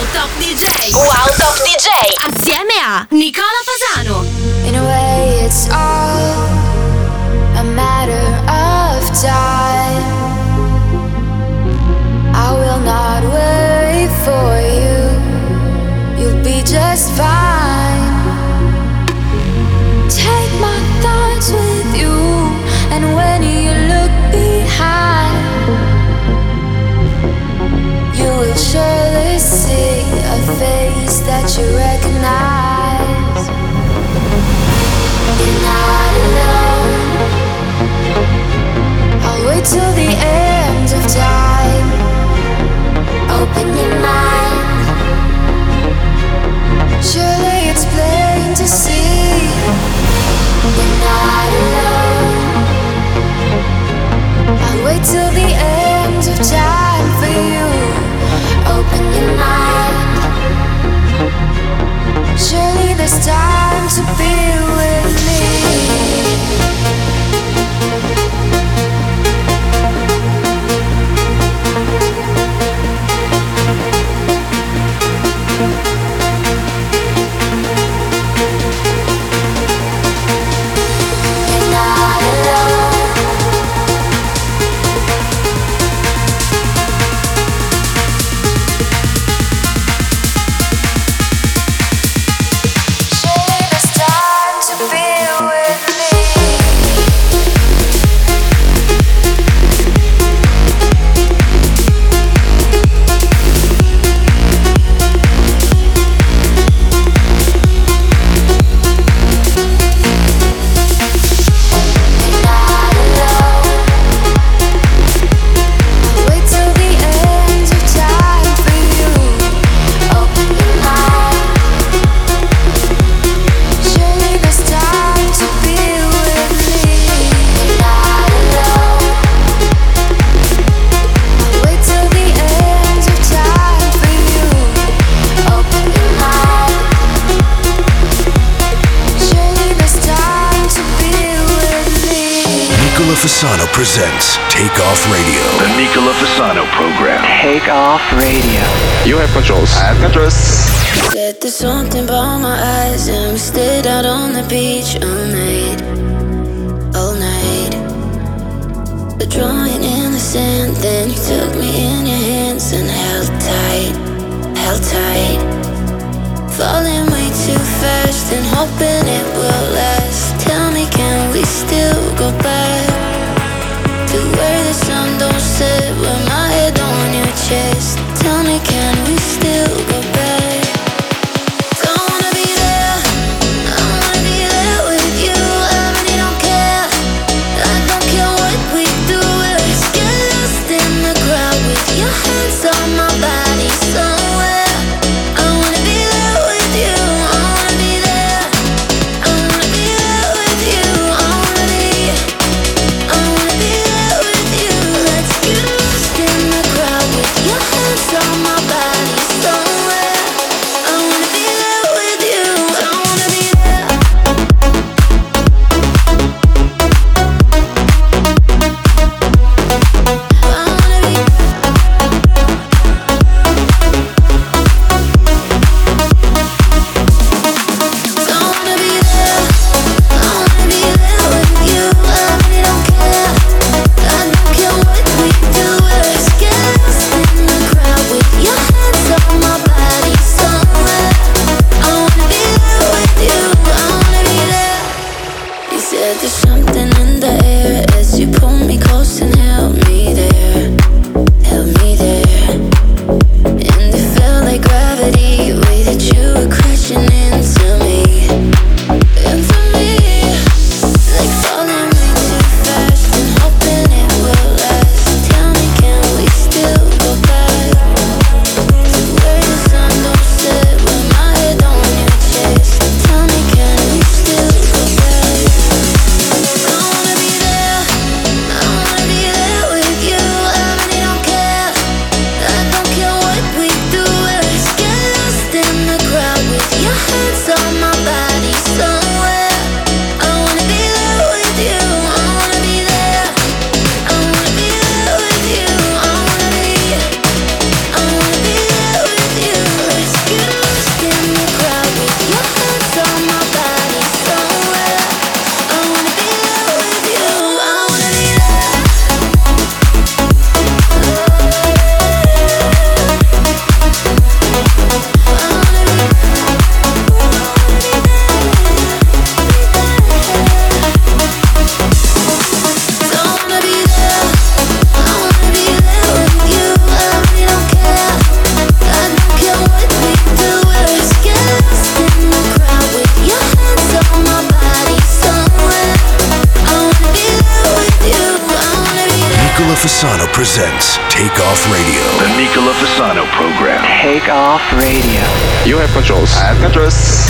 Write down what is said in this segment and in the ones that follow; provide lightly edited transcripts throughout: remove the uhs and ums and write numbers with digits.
Wow Top DJ. Wow Top DJ. Assieme a Nicola Fasano. In a way it's all a matter of time. I will not wait for you. You'll be just fine. Take my thoughts with you, and when you look behind, you will surely see a face that you recognize. You're not alone. I'll wait till the end of time. Open your mind. Surely it's plain to see. You're not alone. I'll wait till the end of time for you. Open your mind. Surely there's time to be with me. Fasano presents Take Off Radio. The Nicola Fasano program. Take Off Radio. You have controls. I have controls. Said there's something about my eyes, and we stayed out on the beach all night. All night. But drawing in the sand, then you took me in your hands and held tight. Held tight. Falling way too fast and hoping it will last. Tell me, can we still go back to where the sun don't set, with my head on your chest? Tell me, can we still go back? Don't wanna be there, I wanna be there with you. I really don't care, I don't care what we do. Let's get lost in the crowd with your hands on my body somewhere. I wanna be there with you, I wanna be there, I wanna be there presents Take Off Radio. The Nicola Fasano program. Take off radio. You have controls. I have controls.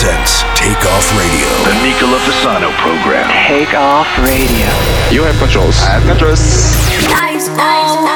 presents Take Off Radio. The Nicola Fasano program. Take off radio. You have controls. I have controls. Lights go.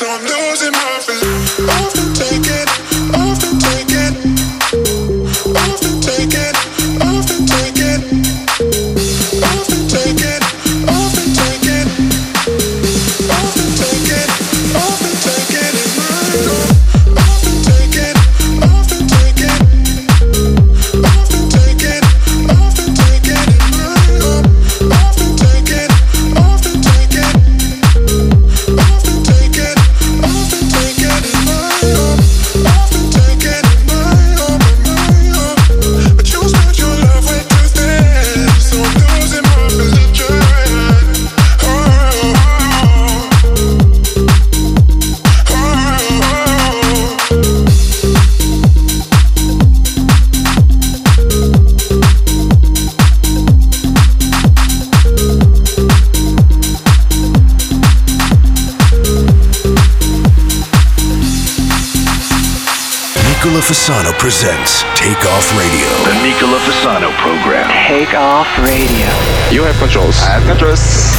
Fasano presents Take Off Radio. The Nicola Fasano program. Take Off Radio. You have controls. I have controls.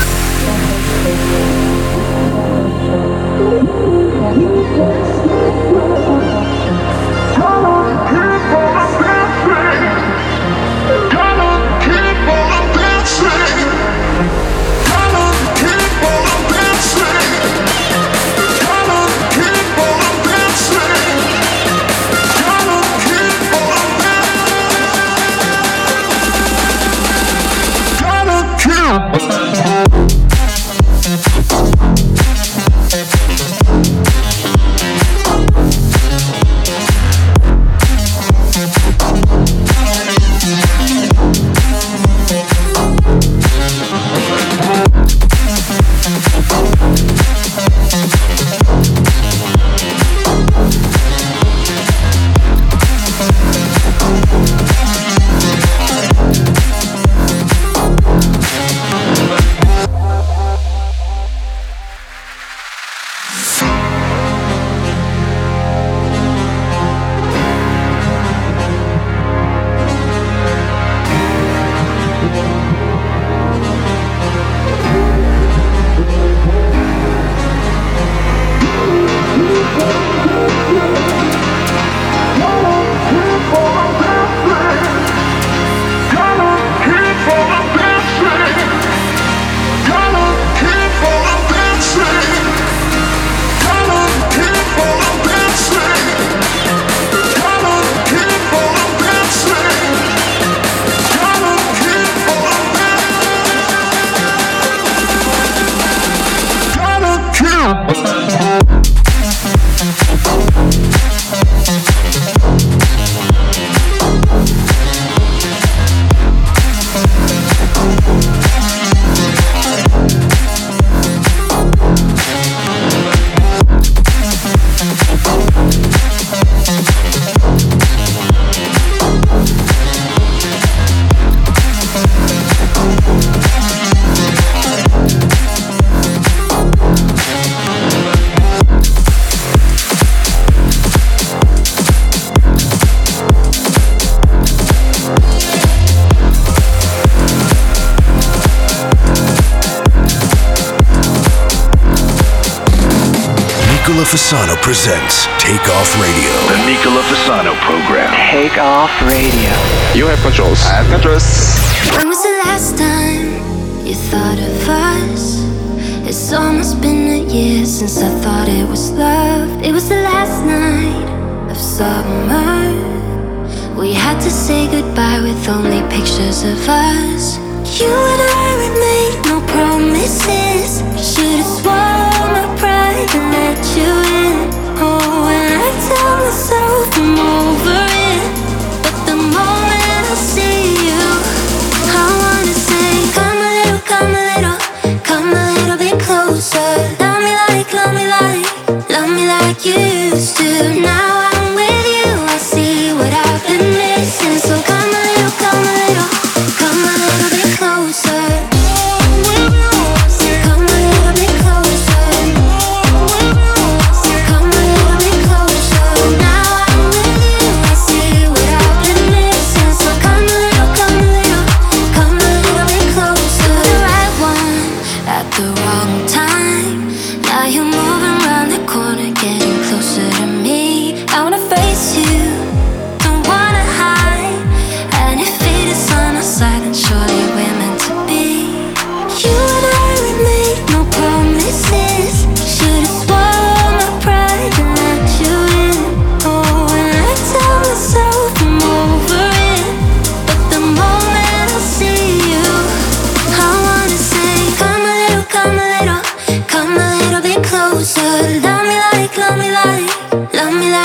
Fasano presents Take Off Radio. The Nicola Fasano program. Take Off Radio. You have controls. I have controls. When was the last time you thought of us? It's almost been a year since I thought it was love. It was the last night of summer. We had to say goodbye with only pictures of us. You and I, we made no promises. Should've swallowed my pride and let you in. Oh, and I tell myself I'm over it, but the moment I see you, I wanna say, come a little, come a little, come a little bit closer. Love me like, love me like, love me like you used to. Now I'm with you, I see what I've been missing. So come a little, come a little, come a little bit closer. Come a little bit closer. Come a little bit closer. Now I'm with you, I see what I've been missing. So come a little, come a little, come a little bit closer. The right one at the wrong time. Now you're moving around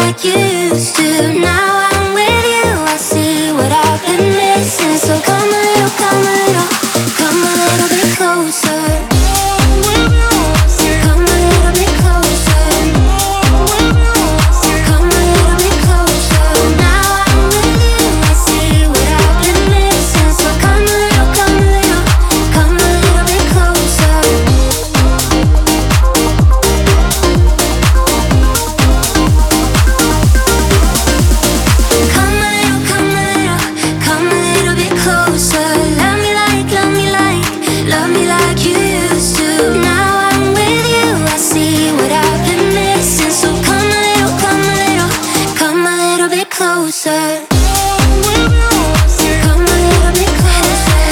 like you used to. Now I'm with you, I see what I've been missing. So come a little, come a little, come a little bit closer. Come a little bit closer. Come a little bit closer. Now I'm with you, I see what I've been missing. So come a little, come a little, come a little bit closer. Come a little bit closer. Love me like you used to. Now I'm with you, I see what I've been missing. So come a little, come a little bit closer. Come a little bit closer.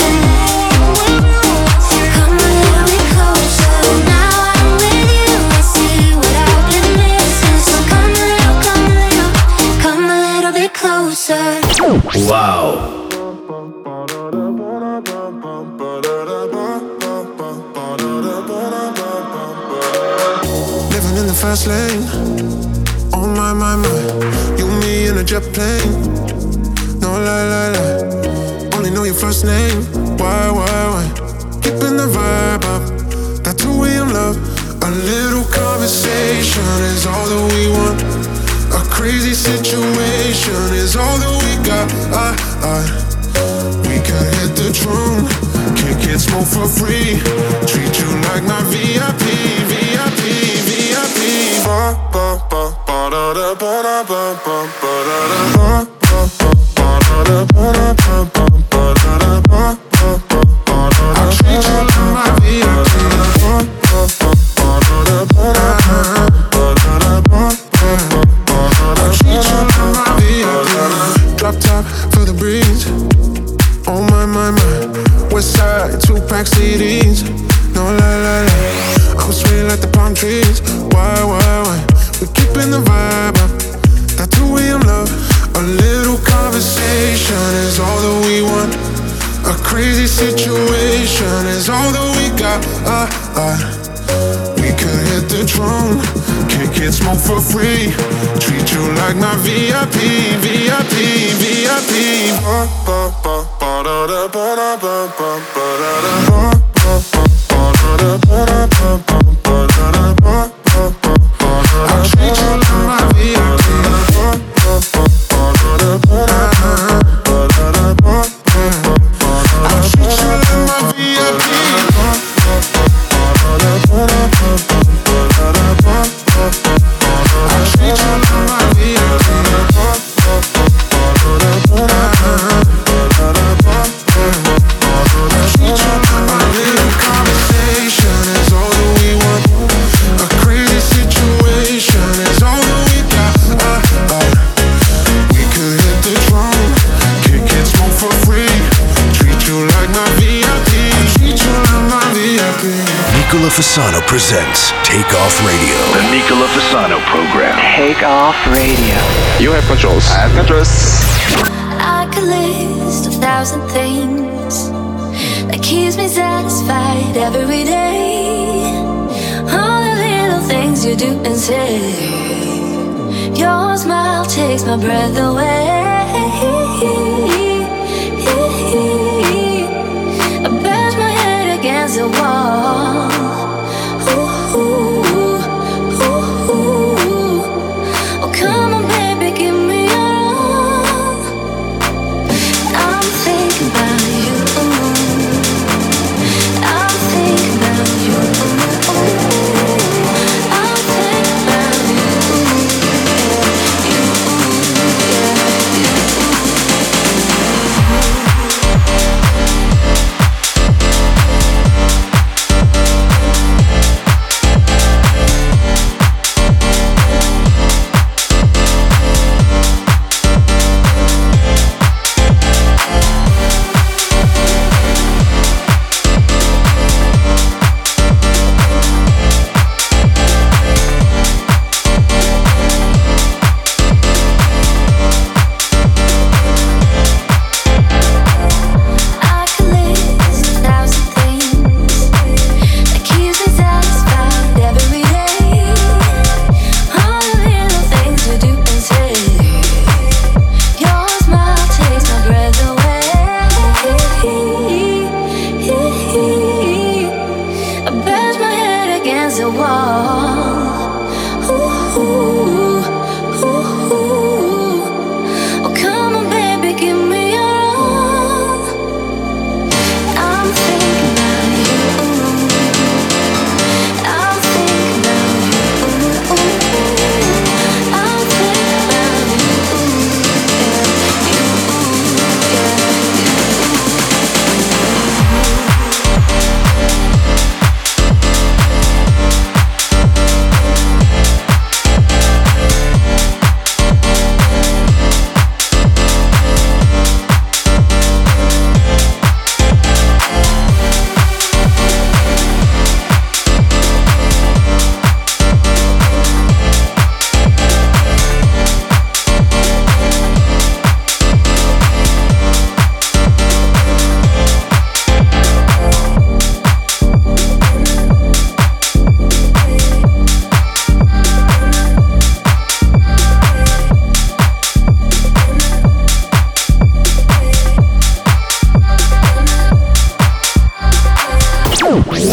Come a little bit closer. Now I'm with you, I see what I've been missing. So come a little bit closer. Wow. Living in the fast lane. Oh my, my, my. You, me in a jet plane. No lie. Only know your first name. Why? Keeping the vibe up. That 2 a.m. love. A little conversation is all that we want. A crazy situation is all that we got. We can hit the throne, kick it, smoke for free. Treat you like my VIP. Ba ba ba ba da da ba da ba ba ba da da ba ba ba da ba da ba ba ba da da ba ba ba da da. I treat you like my VIP. Ba ba ba da da ba da ba da ba ba. I treat you like my VIP. Drop top for the breeze. Oh my. West side, 2-pack CDs. No lie. I'm sweet like the palm trees. Why? We're keeping the vibe up. That 2 a.m. love. A little conversation is all that we want. A crazy situation is all that we got. We could hit the throne, kick it, smoke for free. Treat you like my VIP. Ba ba ba ba da da ba da ba ba ba da da ba ba ba da da ba da ba ba ba da da ba ba ba da da. I treat you like my VIP. Ba ba ba da da ba da ba da da ba ba ba da da. I treat you like my VIP. Ba ba ba da da ba da ba ba ba da da ba ba ba da da. I treat you like my VIP. Ba ba ba da da ba da ba ba da da ba ba ba da da. I treat you like my little conversation is all that we want. A crazy situation is all that we got. We could hit the throne, kick it, smoke for free. Treat you like my VIP. Treat you like my VIP. Nicola Fasano presents Take Off Radio. The Nicola Fasano program. Take Off Radio. You have controls. I have controls. I could list 1,000 things that keeps me satisfied every day. All the little things you do and say. Your smile takes my breath away. I bash my head against the wall. Oh, come on, baby, give me your all. I'm thinking about you. I'm thinking about you. I'm thinking about you.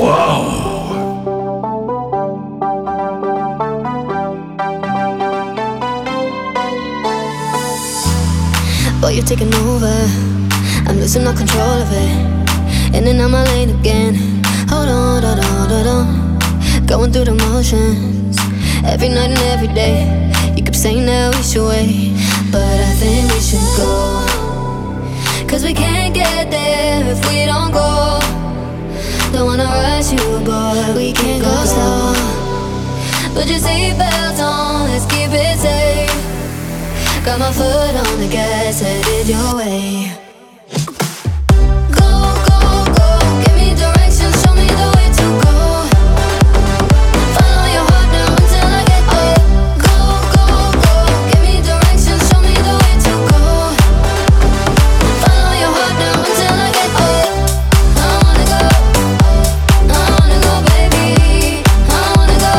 But you're taking over, I'm losing all control of it. In and out my lane again. Hold on, hold on, hold on. Going through the motions, every night and every day. You keep saying that we should wait, but I think we should go. Cause we can't get there if we don't go. Don't wanna rush you, boy, we can't go slow. Put your seatbelt on, let's keep it safe. Got my foot on the gas, headed your way. Go, go, go, give me directions, show me the way to go. Follow your heart now until I get there. Go, go, go, give me directions, show me the way to go. Follow your heart now until I get there. I wanna go, baby. I wanna go,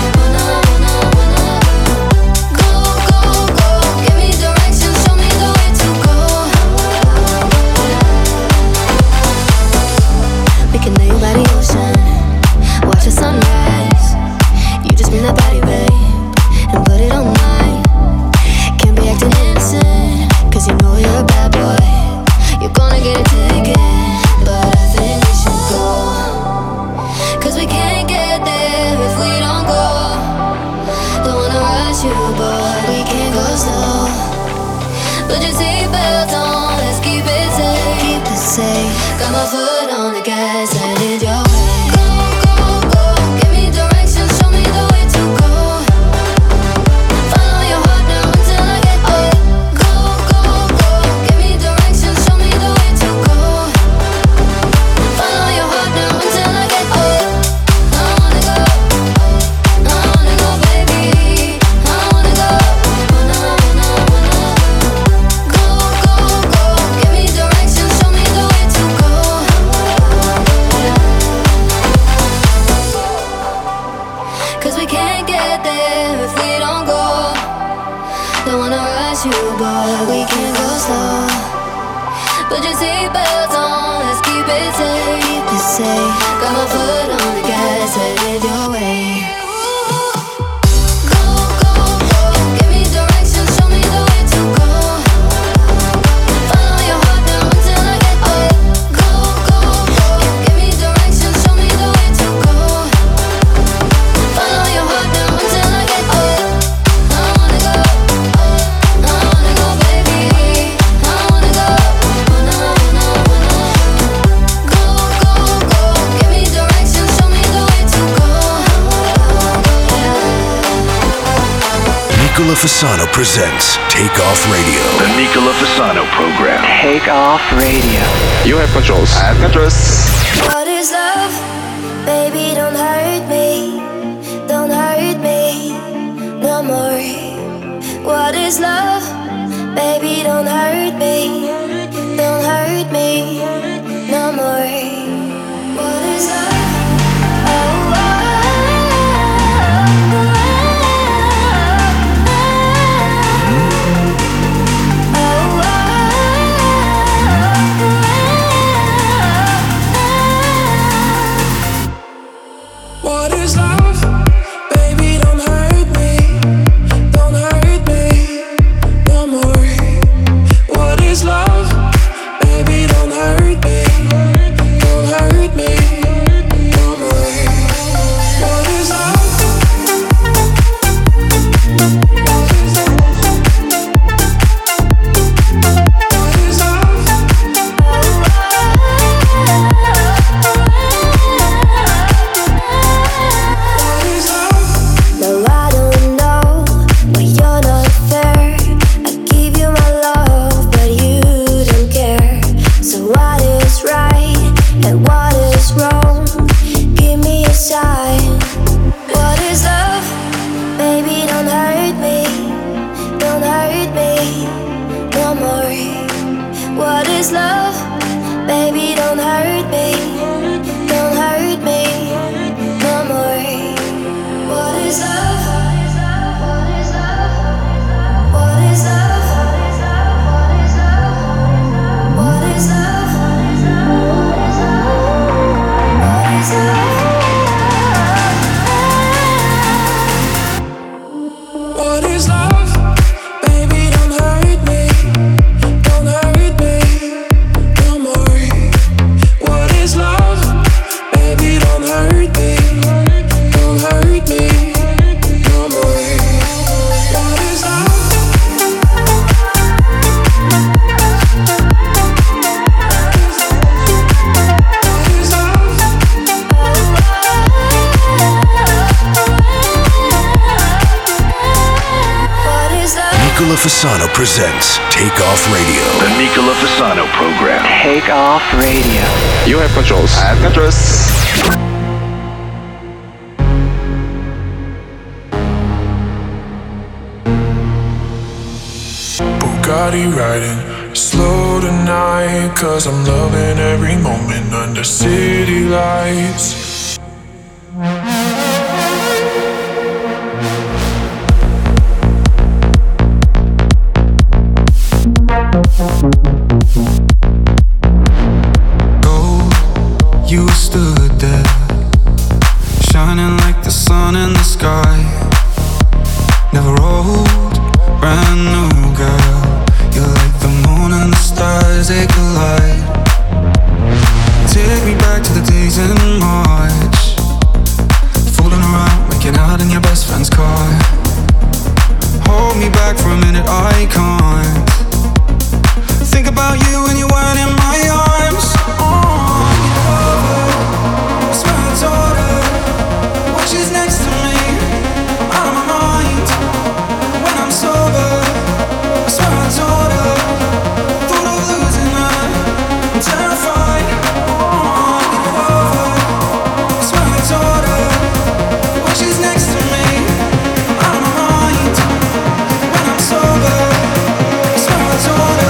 Go, go, go, give me directions, show me the way to go. We can lay by the ocean, watch the sunrise. You just bring that body, babe, and put it on mine. Can't be acting innocent, cause you know you're a bad boy. You're gonna get a ticket, but I think we should go. Cause we can't get there if we don't go. Don't wanna rush you, boy, we can't go slow. Put your seatbelt on, let's keep it safe. Keep it safe. Got my foot on the gas, headed your way. Go, go, go, give me directions, show me the way to go. Follow your heart now until I get there. Go, go, go, give me directions, show me the way to go. Follow your heart now until I get there. I wanna go, baby. I wanna go, Go, go, go, give me directions, show me the way to go. Cause we can't get there if we don't go. Don't wanna rush you, boy, we can't go slow. Put your seatbelt on, let's keep it safe. Keep it safe. Got my foot on the gas, headed your way. Go, go, go, give me directions, show me the way to go. Follow your heart now until I get there. Go, go, go, give me directions, show me the way to go. Follow your heart now until I get there. I wanna go, baby. I wanna go, Go, go, go, give me directions, show me the way to go. Nicola Fasano presents Take Off Radio. The Nicola Fasano program. Take off radio. You have controls. I have controls. What is love? Baby, don't hurt me. Don't hurt me no more. What is love? Baby, don't hurt me. Don't hurt me no more. What is love? What is love? Baby, don't hurt me. Don't hurt me no more. What is love? Baby, don't hurt me. Don't hurt me no more. What is love? What is love? What is love? What is love? No, I don't know, but you're not fair. I give you my love, but you don't care. So what is right and what is wrong? Give me a sign. What is love? Baby, don't hurt me. Don't hurt me no more. What is love? Baby, don't hurt me. Don't hurt me no more. What is love? What is love? What is love? What is love? What is love? Nicola Fasano presents Take Off Radio. The Nicola Fasano program. Take Off Radio. You have controls. I have controls. Bugatti riding slow tonight, 'cause I'm loving every moment under city lights. Oh, you stood there, shining like the sun in the sky. Never old, brand new girl. You're like the moon and the stars, they collide. Take me back to the days in March, fooling around, making out in your best friend's car. Hold me back for a minute, I can't think about you when you weren't in my arms. It's my daughter, when she's next to me, I'm out of my mind. When I'm sober, it's my daughter, thought of losing her, I'm terrified. It's my daughter, when she's next to me, I'm out of my mind. When I'm sober, it's my daughter.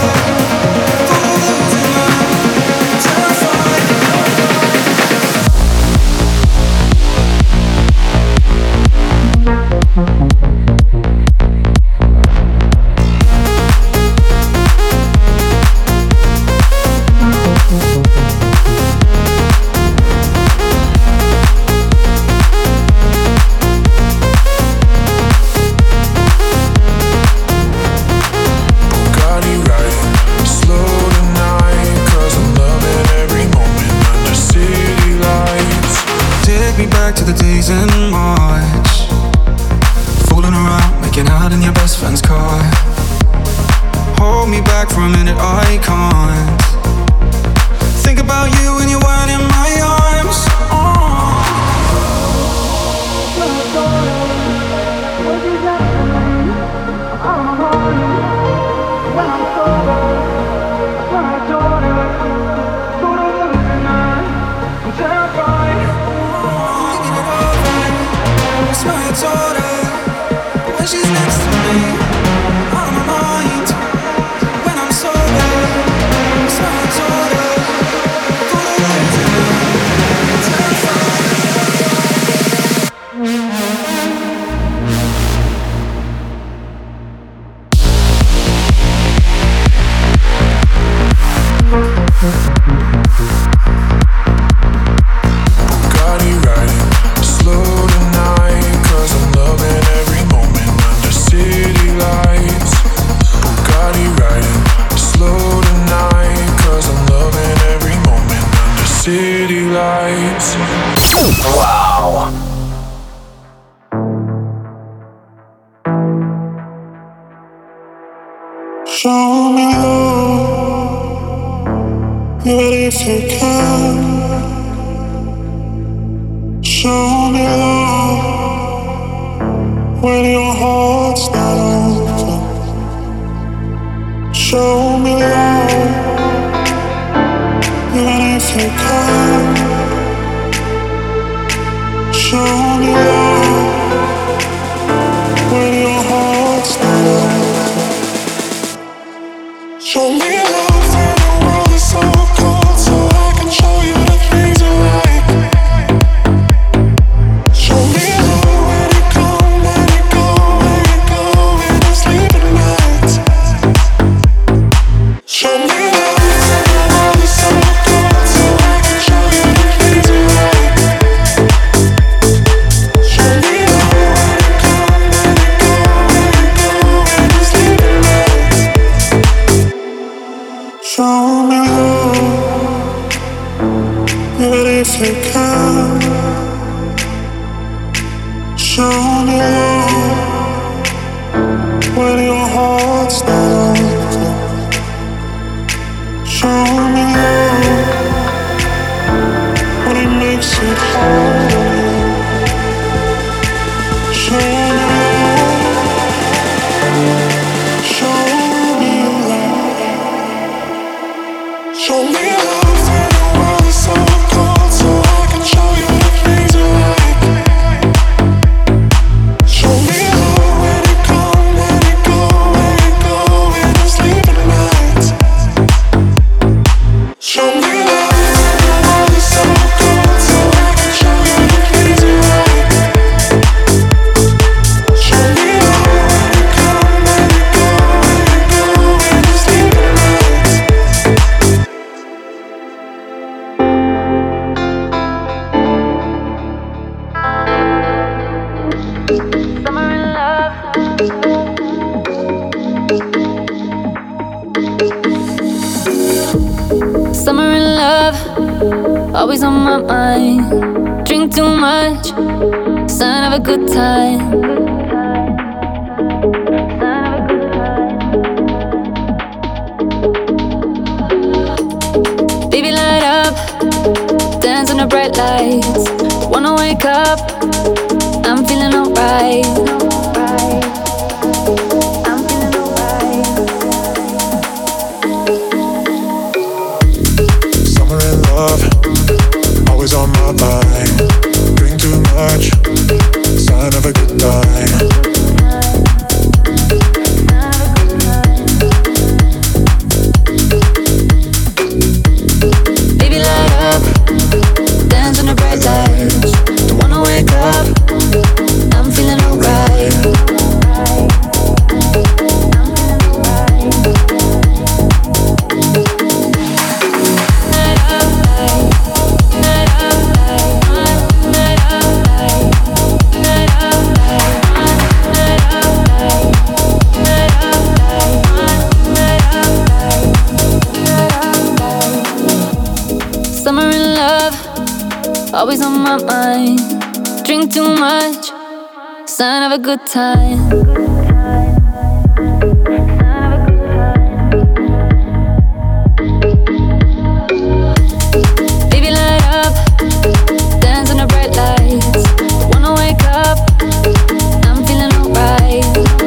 To the days in March, fooling around, making out in your best friend's car. Hold me back for a minute, I can't think about you when you weren't in my arms. My daughter, when she's next to me, out of my mind. When I'm sober, it's my daughter, full of Bugatti riding slow tonight, 'cause I'm loving every moment under city lights. Bugatti riding slow tonight, 'cause I'm loving every moment under city lights. Wow. Show me love, but if you can. Show me love when your heart's not open. Show me love, even if you can. Show me love when your heart's not open. Show me love when the world is so cold, so I can show you the things you like. Show me love when you come, when you go, when you go, when you sleep at night. Show me love when the world is so cold, so I can show you the things you like. Show me love when you come, when you go, when you go, when you sleep at night. Show me love, but if you can. Show me love when your heart's not open. Show me love when it makes it hard on you. Show me love. always on my mind. Drink too much, sign of a good time. Baby, light up, dance on the bright lights. Wanna wake up, I'm feeling alright. Summer in love, always on my mind. Drink too much, sign of a good time. Don't wanna wake up, I'm feeling alright. Summer in love, always on my mind. Drink too much, sign of a good time. Baby, light up, dance on the bright lights. Wanna wake up, I'm feeling alright.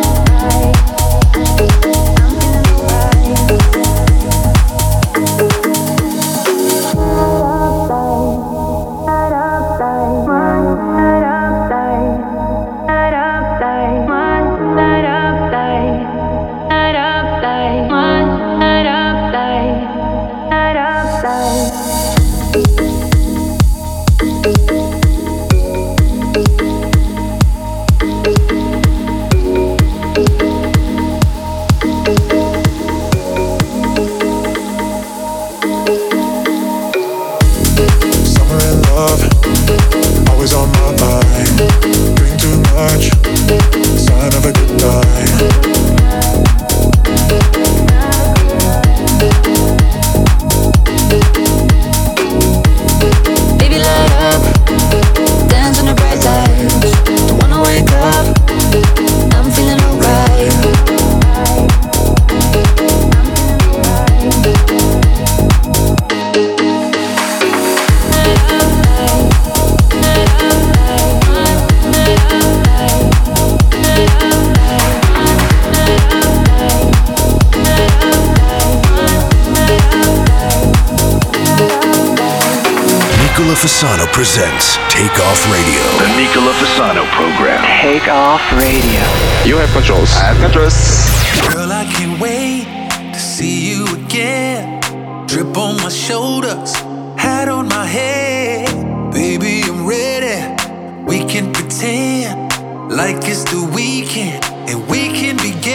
Fasano presents Take Off Radio. The Nicola Fasano program. Take Off Radio. You have controls. I have controls. Girl, I can't wait to see you again. Drip on my shoulders, hat on my head. Baby, I'm ready. We can pretend like it's the weekend and we can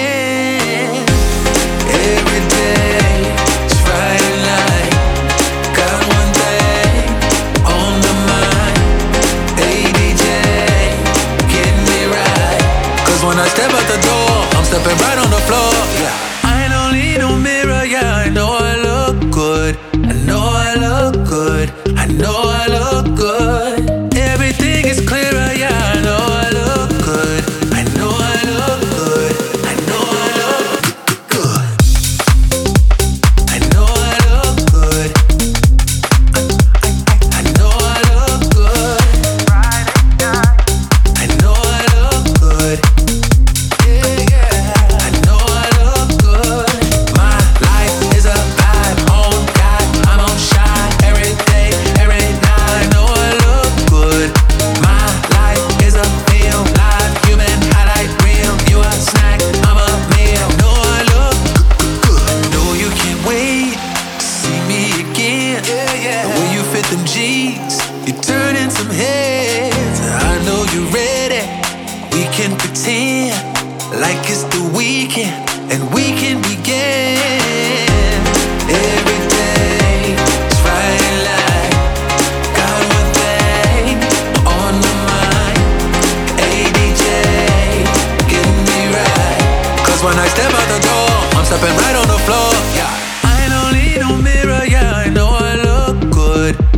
begin. Every day, it's Friday night. Got one thing on the mind. Hey DJ, get me right. Cause when I step out the door, I'm stepping right on the floor. Yeah. I don't need no mirror, yeah, I know I look good. I know I look good. I know I look good. Everything is clearer, yeah, I know I look good. I know I look good. I know I look good. I know I look good. I know I look good. I know I look good. Yeah, yeah. I know I look good. My life is a vibe. On God, I'm on shine every day, every night. I know I look good. My life is a film, live, human, highlight reel. You a snack, I'm a meal. Know I look good. Know you can't wait to see me again. Yeah, yeah. The way you fit them jeans, you're turning some heads. I know you're ready. We can pretend like it's the weekend and we can begin. Every day, it's Friday night. Got one thing on my mind. Hey DJ, get me right. Cause when I step out the door, I'm stepping right on the floor. Yeah. I don't need no mirror, yeah, I know I look good.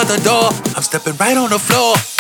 out the door. I'm stepping right on the floor.